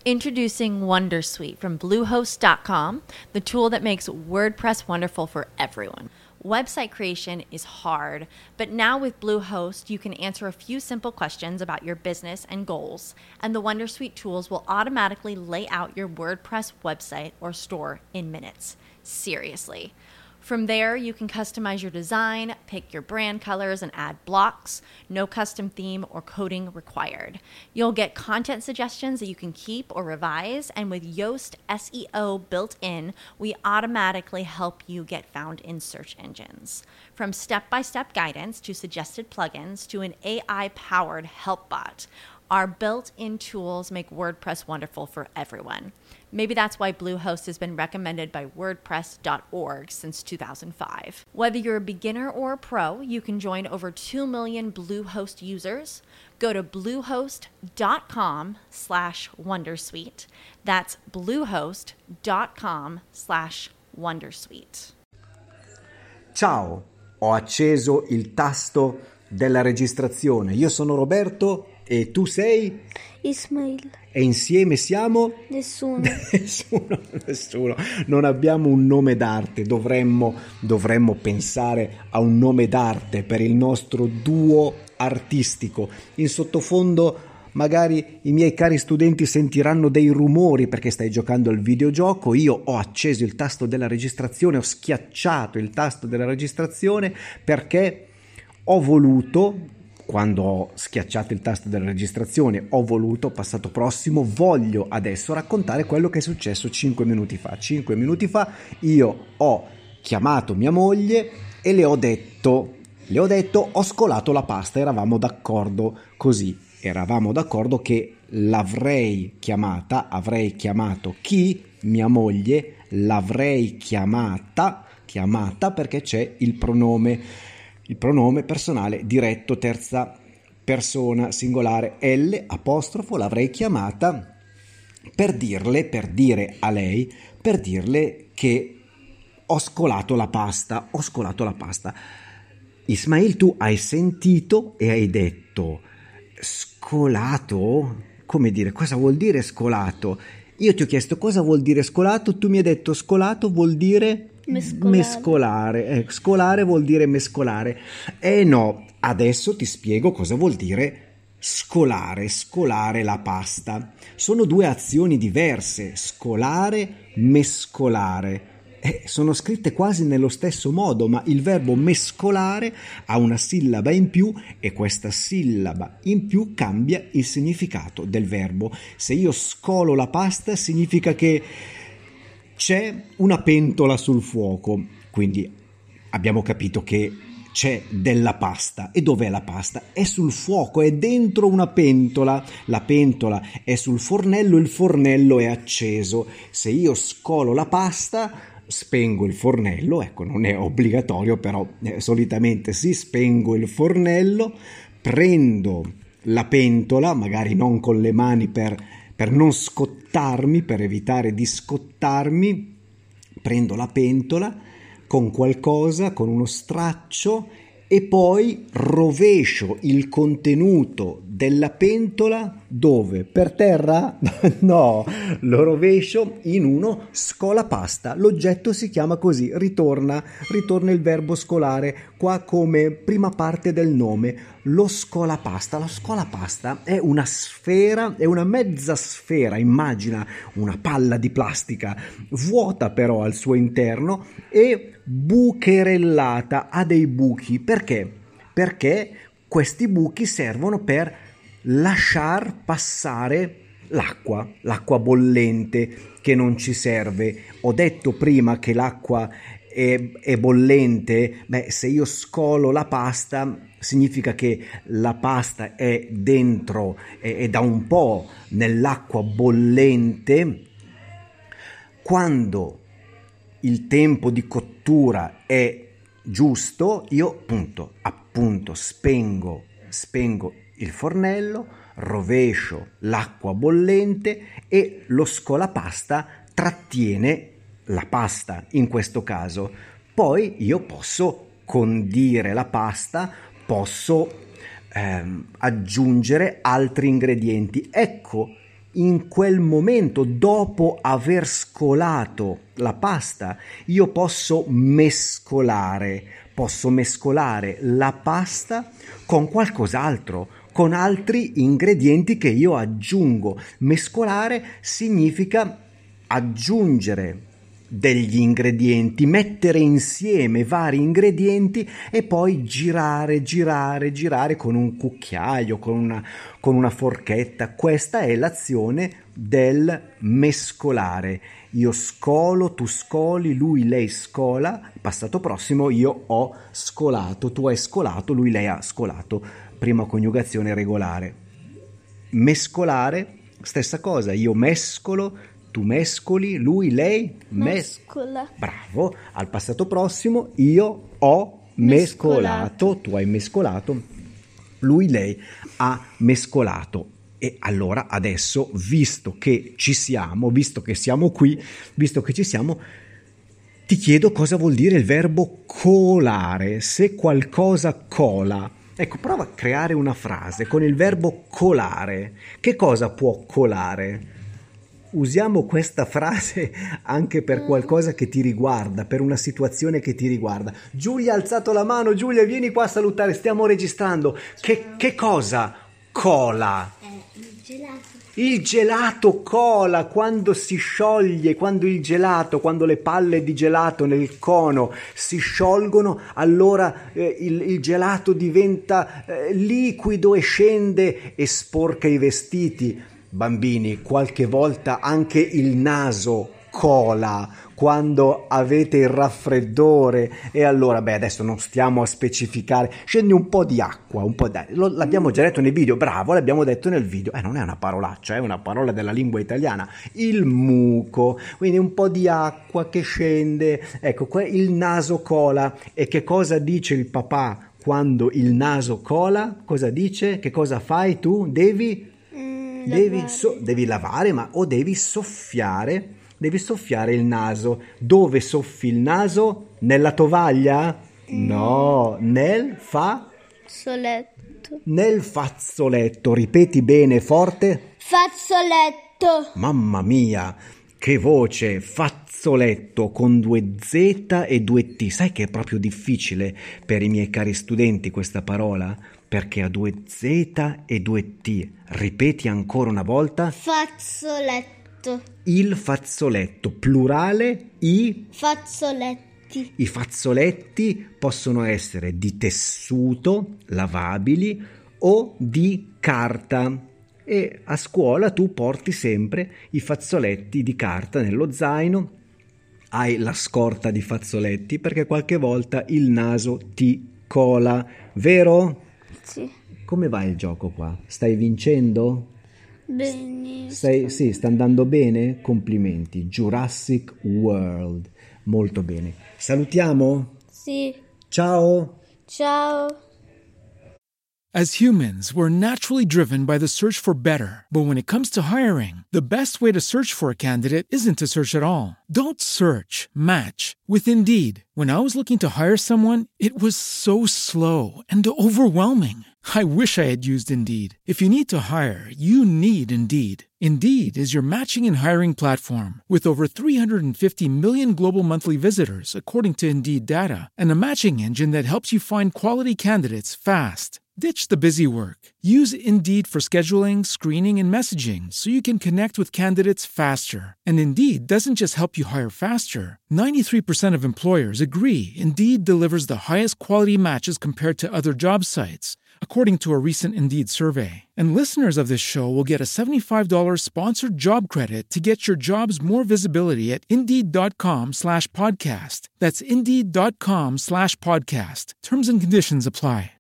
Introducing Wondersuite from Bluehost.com, the tool that makes WordPress wonderful for everyone. Website creation is hard, but now with Bluehost, you can answer a few simple questions about your business and goals, and the Wondersuite tools will automatically lay out your WordPress website or store in minutes. Seriously. From there, you can customize your design, pick your brand colors, and add blocks. No custom theme or coding required. You'll get content suggestions that you can keep or revise, and with Yoast SEO built in, we automatically help you get found in search engines. From step-by-step guidance to suggested plugins to an AI-powered help bot, our built-in tools make WordPress wonderful for everyone. Maybe that's why Bluehost has been recommended by WordPress.org since 2005. Whether you're a beginner or a pro, you can join over 2 million Bluehost users. Go to bluehost.com/wondersuite. That's bluehost.com/wondersuite. Ciao, ho acceso il tasto della registrazione. Io sono Roberto e tu sei? Ismail. E insieme siamo? Nessuno. Nessuno. Non abbiamo un nome d'arte. Dovremmo pensare a un nome d'arte per il nostro duo artistico. In sottofondo magari i miei cari studenti sentiranno dei rumori perché stai giocando al videogioco. Io ho acceso il tasto della registrazione, ho schiacciato il tasto della registrazione perché ho voluto, quando ho schiacciato il tasto della registrazione, passato prossimo, voglio adesso raccontare quello che è successo 5 minuti fa. 5 minuti fa io ho chiamato mia moglie e le ho detto, ho scolato la pasta, eravamo d'accordo così, eravamo d'accordo che avrei chiamato chi? Mia moglie, l'avrei chiamata perché c'è il pronome personale diretto, terza persona singolare, L apostrofo, l'avrei chiamata per dire che ho scolato la pasta. Ismail, tu hai sentito e hai detto scolato? Come dire, cosa vuol dire scolato? Io ti ho chiesto cosa vuol dire scolato, tu mi hai detto scolato vuol dire mescolare. Scolare vuol dire mescolare. No, adesso ti spiego cosa vuol dire scolare la pasta. Sono due azioni diverse, scolare, mescolare. Sono scritte quasi nello stesso modo, ma il verbo mescolare ha una sillaba in più e questa sillaba in più cambia il significato del verbo. Se io scolo la pasta significa che c'è una pentola sul fuoco, quindi abbiamo capito che c'è della pasta. E dov'è la pasta? È sul fuoco, è dentro una pentola. La pentola è sul fornello, il fornello è acceso. Se io scolo la pasta, spengo il fornello, ecco, non è obbligatorio, però solitamente spengo il fornello, prendo la pentola, magari non con le mani per non scottarmi, per evitare di scottarmi, prendo la pentola con qualcosa, con uno straccio, e poi rovescio il contenuto della pentola dove? Per terra? No, lo rovescio in uno scolapasta. L'oggetto si chiama così, ritorna il verbo scolare qua come prima parte del nome, lo scolapasta. Lo scolapasta è una sfera, è una mezza sfera, immagina una palla di plastica vuota però al suo interno e bucherellata, ha dei buchi. Perché? Perché questi buchi servono per lasciar passare l'acqua bollente che non ci serve. Ho detto prima che l'acqua è bollente. Se io scolo la pasta significa che la pasta è dentro, è da un po' nell'acqua bollente. Quando il tempo di cottura è giusto, io appunto spengo il fornello, rovescio l'acqua bollente e lo scolapasta trattiene la pasta in questo caso. Poi io posso condire la pasta, posso aggiungere altri ingredienti. Ecco in quel momento, dopo aver scolato la pasta, io posso mescolare la pasta con qualcos'altro, con altri ingredienti che io aggiungo. Mescolare significa aggiungere degli ingredienti, mettere insieme vari ingredienti e poi girare con un cucchiaio, con una forchetta. Questa è l'azione del mescolare. Io scolo, tu scoli, lui, lei scola, passato prossimo, io ho scolato, tu hai scolato, lui, lei ha scolato. Prima coniugazione regolare. Mescolare, stessa cosa, io mescolo, tu mescoli, lui, lei mescola. Bravo, al passato prossimo io ho mescolato, tu hai mescolato, lui, lei ha mescolato. E allora adesso, visto che ci siamo, visto che siamo qui, visto che ci siamo, ti chiedo cosa vuol dire il verbo colare. Se qualcosa cola, ecco, prova a creare una frase con il verbo colare. Che cosa può colare? Usiamo questa frase anche per qualcosa che ti riguarda, per una situazione che ti riguarda. Giulia ha alzato la mano. Giulia, vieni qua a salutare, stiamo registrando. Che cosa cola? Il gelato. Il gelato cola quando si scioglie, quando le palle di gelato nel cono si sciolgono, allora il gelato diventa liquido e scende e sporca i vestiti. Bambini, qualche volta anche il naso cola quando avete il raffreddore, e allora adesso non stiamo a specificare, scende un po' di acqua, l'abbiamo già detto nei video, bravo, l'abbiamo detto nel video, non è una parolaccia, è una parola della lingua italiana, il muco, quindi un po' di acqua che scende, ecco, il naso cola. E che cosa dice il papà quando il naso cola? Cosa dice? Che cosa fai tu? Devi lavare, o devi soffiare il naso. Dove soffi il naso? Nella tovaglia? No, nel fazzoletto. Ripeti bene, forte. Fazzoletto. Mamma mia, che voce! Fazzoletto con 2 Z e 2 T. Sai che è proprio difficile per i miei cari studenti questa parola? Perché ha 2 Z e 2 T. Ripeti ancora una volta. Fazzoletto. Il fazzoletto, plurale, i fazzoletti. I fazzoletti possono essere di tessuto, lavabili, o di carta. E a scuola tu porti sempre i fazzoletti di carta nello zaino. Hai la scorta di fazzoletti perché qualche volta il naso ti cola, vero? Sì. Come va il gioco qua? Stai vincendo? Benissimo. Sì, sta andando bene? Complimenti. Jurassic World. Molto bene. Salutiamo? Sì. Ciao. Ciao. As humans, we're naturally driven by the search for better. But when it comes to hiring, the best way to search for a candidate isn't to search at all. Don't search, match with Indeed. When I was looking to hire someone, it was so slow and overwhelming. I wish I had used Indeed. If you need to hire, you need Indeed. Indeed is your matching and hiring platform with over 350 million global monthly visitors, according to Indeed data, and a matching engine that helps you find quality candidates fast. Ditch the busy work. Use Indeed for scheduling, screening, and messaging so you can connect with candidates faster. And Indeed doesn't just help you hire faster. 93% of employers agree Indeed delivers the highest quality matches compared to other job sites, according to a recent Indeed survey. And listeners of this show will get a $75 sponsored job credit to get your jobs more visibility at Indeed.com/podcast. That's Indeed.com/podcast. Terms and conditions apply.